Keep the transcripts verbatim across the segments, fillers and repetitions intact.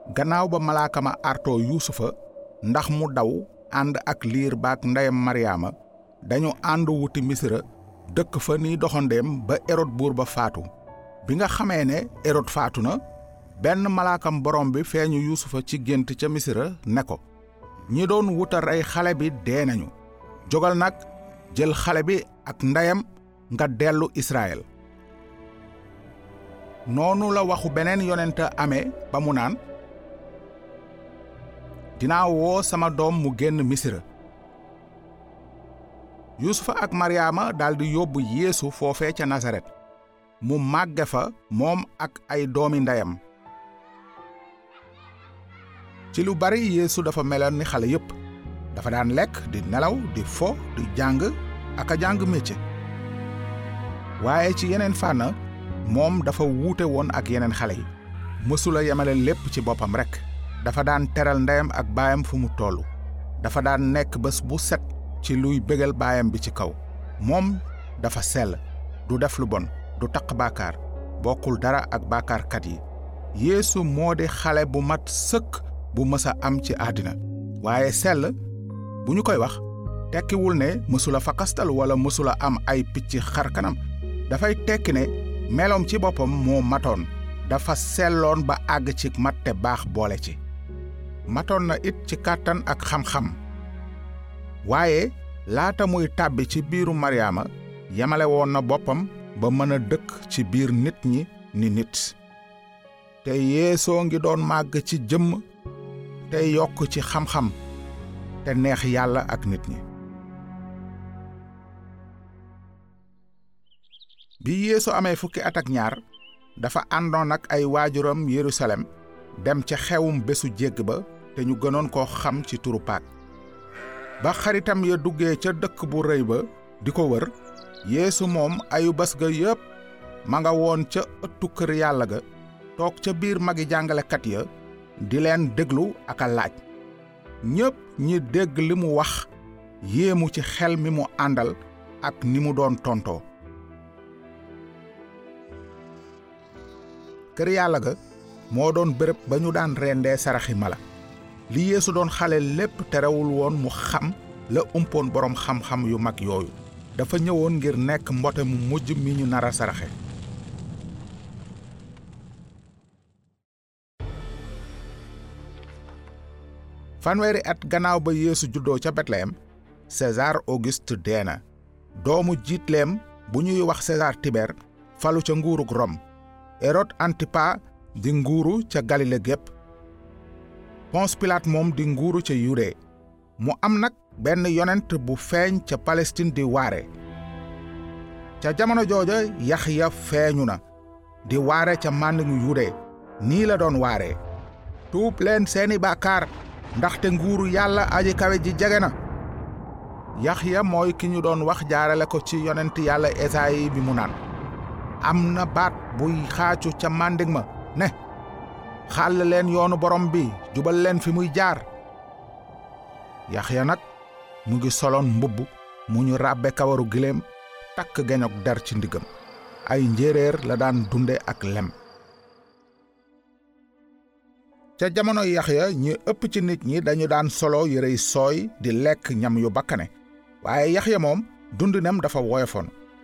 gannaaw ba malaaka ma artoo yuusufa ndax mu daw ànd ak liir baak ndeyam maryaama dañu ànd wuti misira dëkk fa ni doxandeem ba erod buur ba faatu. bi nga xamee ne erod faatu na benn malaakam borom bi feeñu yuusufa ci gént ca misira ne ko ñi doon wuta rey xale bi dee nañu, jógal nag jël xale bi ak ndeyam nga dellu Israël. noonu la waxu beneen yonent amee ba mu naan dinaa woo sama doom mu génn misira. yuusufa ak maryaama daldi yóbbu yeesu foofee ca nasaret mu màgge fa moom ak ay doomi ndeyam. ci lu bari yeesu dafa meloon ni xale yépp, dafa daan lekk di nelaw di fo di jàng ak a jàng métier. waaye ci yeneen fànn moom dafa wuute woon ak yeneen xale yi, mësula yemale lépp ci boppam rekk. dafa daan teral ndeyam ak baayam fu mu tollu, dafa daan nekk bés bu set ci luy bégal baayam bi ci kaw. moom dafa sell, du def lu bon, du taq bàkkaar, bokkul dara ak bàkkaarkat yi. yeesu moo di xale bu mat sëkk bu mësa am ci àddina. waaye sell bu ñu koy wax tekkiwul ne mësula fakastal wala mësula am ay picc xar kanam. dafay tekki ne meloom ci boppam moo matoon, dafa selloon ba àgg ci mat te baax boole ci. matoon na it ci kàttan ak xam-xam. waaye laata muy tàbbi ci biiru maryaama yamale woon na boppam ba mën a dëkk ci biir nit ñi ni nit. te yeesoo ngi doon màgg ci jëmm te yokk ci xam-xam te neex yàlla ak nit ñi. bi yeesu amee fukki at ak ñaar dafa àndoon ak ay waajuram Yerusalem dem ca xewum bésu jégg ba te ñu gënoon koo xam ci turu Paak. ba xaritam ya duggee ca dëkk bu rëy ba di ko wër, yeesu moom ayu bés ga yépp ma nga woon ca ëttu kër yàlla ga toog ca biir magi jàngalekat ya di leen déglu ak a laaj. ñépp ñi dégg li mu wax yéemu ci xel mi mu àndal ak ni mu doon tontoo. kër yàlla ga moo doon béréb ba ñu daan rendee saraxi mala. li yeesu doon xale lépp terewul woon mu xam la umpoon boroom xam-xam yu mag yooyu. dafa ñëwoon ngir nekk mbote mu mujj mi ñu nara saraxe. fanweeri at gannaaw ba yeesu juddoo ca Betlehem, César Auguste dee na. doomu jiitleem bu ñuy wax César Tiber falu ca nguurug Rom. Hérode Antipa di nguuru ca Galile gépp. Ponce Pilate moom di nguuru ca Yude. mu am nag benn yonent bu feeñ ca Palestine di waare. ca jamono jooja Yaxya feeñu na di waare ca màndingu Yude. nii la doon waare: tuub leen seeni bàkkaar ndaxte nguuru yàlla aji kawe ji jege na. Yaxya mooy ki ñu doon wax jaarale ko ci yonent yàlla Esaayi bi mu naan: am na baat buy xaacu ca màndig ma ne, xàll leen yoonu borom bi, jubal leen fi muy jaar. Yaxya nag mu ngi soloon mbubb mu ñu ràbbe kawaru giléem, takk geñok der ci ndigam. ay njéeréer la daan dunde ak lem. ca jamono Yaxya ñi ëpp ci nit ñi dañu daan solo yërey sooy di lekk ñam yu bakkane, waaye Yaxya moom dundinam dafa woyofoon.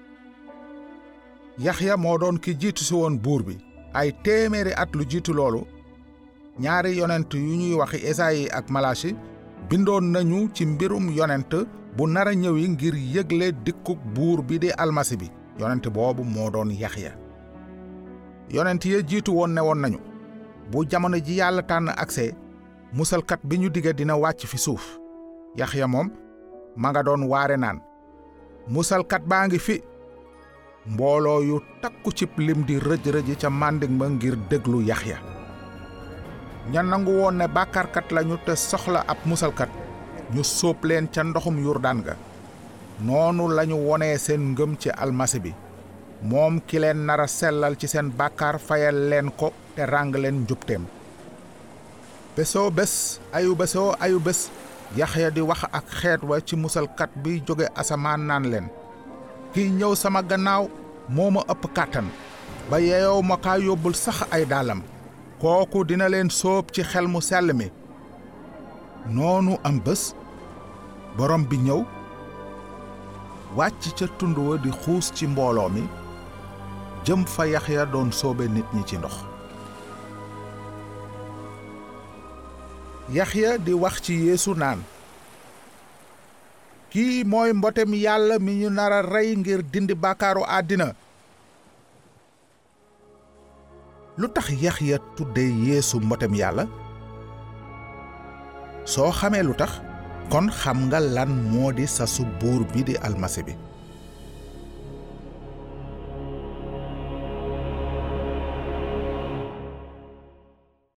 Yaxya moo doon ki jiitu si woon buur bi. ay téeméeri at lu jiitu loolu, ñaari yonent yu ñuy waxi Esaayi ak Malasi bindoon nañu ci mbirum yonent bu nara ñëwi ngir yëgle dikkuk buur bi di almasi bi. yonent boobu moo doon Yaxya. yonent ya jiitu woon ne woon nañu bu jamono ji yàlla tànn akse, musalkat bi ñu dige dina wàcc fi suuf. Yaxya moom ma nga doon waare naan, musalkat baa ngi fi. mbooloo yu takku cib lim di rëj-rëji ca màndig ma ngir déglu Yaxya. ña nangu woon ne bàkkaarkat lañu te soxla ab musalkat, ñu sóob leen ca ndoxum Yurdaan ga. noonu lañu wonee seen ngëm ci almasi bi, moom ki leen nara sellal ci seen bàkkaar, fayal leen ko te ràng leen njubteem. bésoo bés ayu bésoo ayu bés Yaxya di wax ak xeet wa ci musalkat bi jóge asamaan naan leen, kiy ñëw sama gannaaw moo ma ëpp kàttan ba yeeyoo ma kaa yóbbul sax ay daalam. kooku dina leen sóob ci xel mu sell mi. noonu am bés borom bi ñëw wàcc ca tund wa di xuus ci mbooloo mi jëm fa Yaxya doon sóobe nit ñi ci ndox. Yaxya di wax ci Yeesu naan, kii mooy mbotem Yàlla mi ñu nara rey ngir dindi bàkkaaru àddina. lu tax Yaxya tudde Yeesu mbotem Yàlla? soo xamee lu tax kon xam nga lan moo di sasu buur bi di almasi bi.